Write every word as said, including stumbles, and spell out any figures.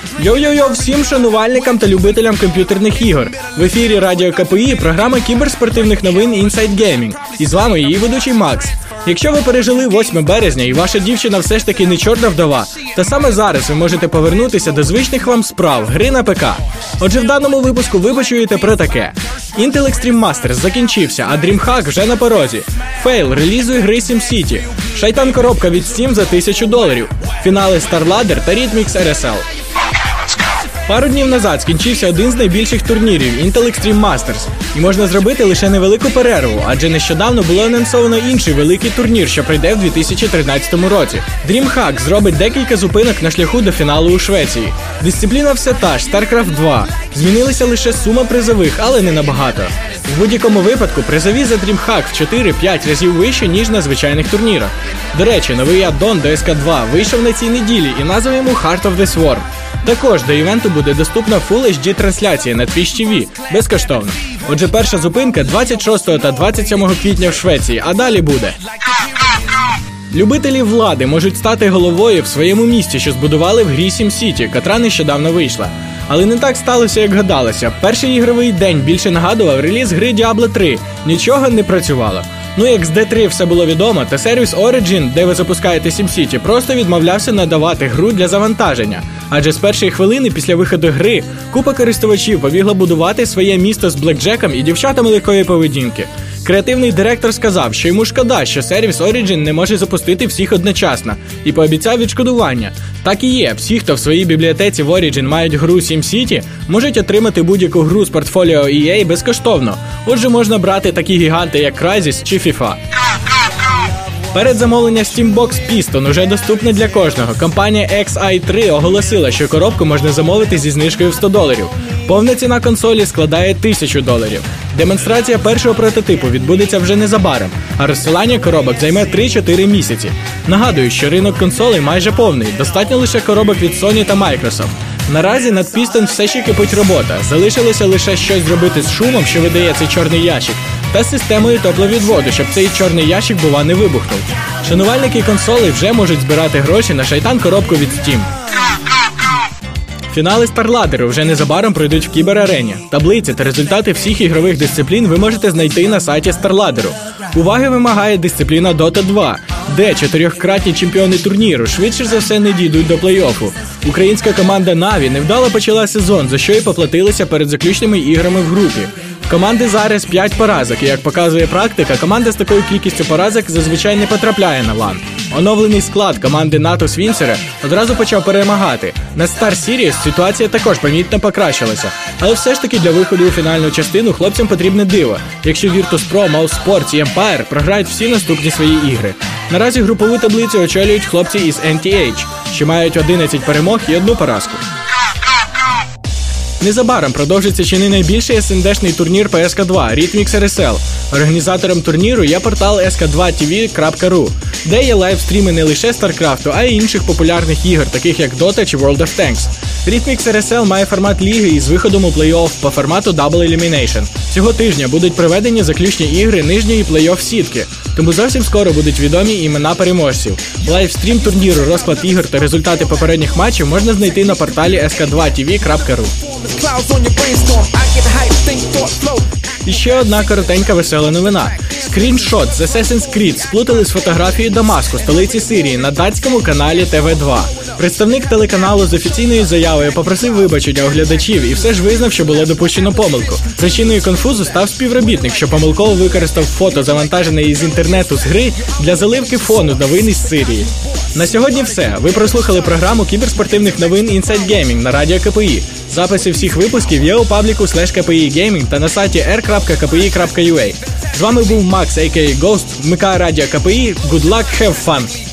Йо-йо-йо всім шанувальникам та любителям комп'ютерних ігор. В ефірі Радіо КПІ програма кіберспортивних новин Inside Gaming. І з вами її ведучий Макс. Якщо ви пережили восьме березня і ваша дівчина все ж таки не чорна вдова, то саме зараз ви можете повернутися до звичних вам справ – гри на ПК. Отже, в даному випуску ви почуєте про таке. Intel Extreme Masters закінчився, а DreamHack вже на порозі. Фейл релізу ігри SimCity. Шайтан-коробка від Steam за тисячу доларів. Фінали StarLadder та Rhythmix ар ес ел. Пару днів назад скінчився один з найбільших турнірів – Intel Extreme Masters. І можна зробити лише невелику перерву, адже нещодавно було анонсовано інший великий турнір, що пройде в дві тисячі тринадцятому році. DreamHack зробить декілька зупинок на шляху до фіналу у Швеції. Дисципліна все та ж – StarCraft два. Змінилася лише сума призових, але не набагато. В будь-якому випадку призові за DreamHack в чотири-п'ять разів вище, ніж на звичайних турнірах. До речі, новий аддон до ес ка два вийшов на цій неділі і назвав йому Heart of the Swarm. Також до івенту буде доступна Full ейч ді трансляція на Twitch ті ві, безкоштовно. Отже, перша зупинка двадцять шостого та двадцять сьомого квітня в Швеції, а далі буде. Любителі влади можуть стати головою в своєму місті, що збудували в грі SimCity, котра нещодавно вийшла. Але не так сталося, як гадалося. Перший ігровий день більше нагадував реліз гри Діабло три. Нічого не працювало. Ну як з ді три все було відомо, то сервіс Origin, де ви запускаєте SimCity, просто відмовлявся надавати гру для завантаження. Адже з першої хвилини після виходу гри купа користувачів побігла будувати своє місто з блекджеком і дівчатами легкої поведінки. Креативний директор сказав, що йому шкода, що сервіс Origin не може запустити всіх одночасно, і пообіцяв відшкодування. Так і є, всі, хто в своїй бібліотеці в Origin мають гру SimCity, можуть отримати будь-яку гру з портфоліо і ей безкоштовно. Отже, можна брати такі гіганти, як Crysis чи FIFA. Передзамовлення Steambox Piston уже доступне для кожного. Компанія ікс ай три оголосила, що коробку можна замовити зі знижкою в сто доларів. Повна ціна консолі складає тисячу доларів. Демонстрація першого прототипу відбудеться вже незабаром, а розсилання коробок займе три-чотири місяці. Нагадую, що ринок консолей майже повний, достатньо лише коробок від Sony та Microsoft. Наразі над Piston все ще кипить робота, залишилося лише щось зробити з шумом, що видає цей чорний ящик, та з системою тепловідводу, щоб цей чорний ящик, бува, не вибухнув. Шанувальники консолей вже можуть збирати гроші на шайтан-коробку від Steam. Фінали StarLadder вже незабаром пройдуть в кіберарені. Таблиці та результати всіх ігрових дисциплін ви можете знайти на сайті StarLadder. Уваги вимагає дисципліна Дота два, де чотирьохкратні чемпіони турніру швидше за все не дійдуть до плей-оффу. Українська команда Наві невдало почала сезон, за що й поплатилися перед заключними іграми в групі. В команди зараз п'ять поразок, і, як показує практика, команда з такою кількістю поразок зазвичай не потрапляє на лан. Оновлений склад команди НАТО Свінцера одразу почав перемагати. На Star Series ситуація також помітно покращилася. Але все ж таки для виходу у фінальну частину хлопцям потрібне диво, якщо Virtus.pro, Mousesports і Empire програють всі наступні свої ігри. Наразі групову таблицю очолюють хлопці із ен ті ейч, що мають одинадцять перемог і одну поразку. Незабаром продовжиться чи не найбільший ес ен де-шний турнір по ес ка два – Rhythmix ар ес ел. Організатором турніру є портал ес ка два ті ві крапка ру, де є лайвстріми не лише StarCraft, а й інших популярних ігор, таких як Dota чи World of Tanks. Rhythmix ар ес ел має формат ліги із виходом у плей-офф по формату Double Elimination. Цього тижня будуть проведені заключні ігри нижньої плей-офф сітки, тому зовсім скоро будуть відомі імена переможців. Лайвстрім турніру, розклад ігор та результати попередніх матчів можна знайти на порталі ес ка два ті ві крапка ру. І ще одна коротенька весела новина. Скріншот з Assassin's Creed сплутали з фотографією Дамаску, столиці Сирії, на датському каналі те ве два. Представник телеканалу з офіційною заявою попросив вибачення у глядачів і все ж визнав, що було допущено помилку. Причиною конфузу став співробітник, що помилково використав фото, завантажене із інтернету з гри, для заливки фону новин із Сирії. На сьогодні все. Ви прослухали програму кіберспортивних новин Inside Gaming на Радіо КПІ. Записи всіх випусків є у пабліку слеш КПІ Gaming та на сайті ар крапка ка пі і крапка ю а. З вами був Макс, а ка а. Ghost, вмикає Радіо КПІ. Good luck, have fun!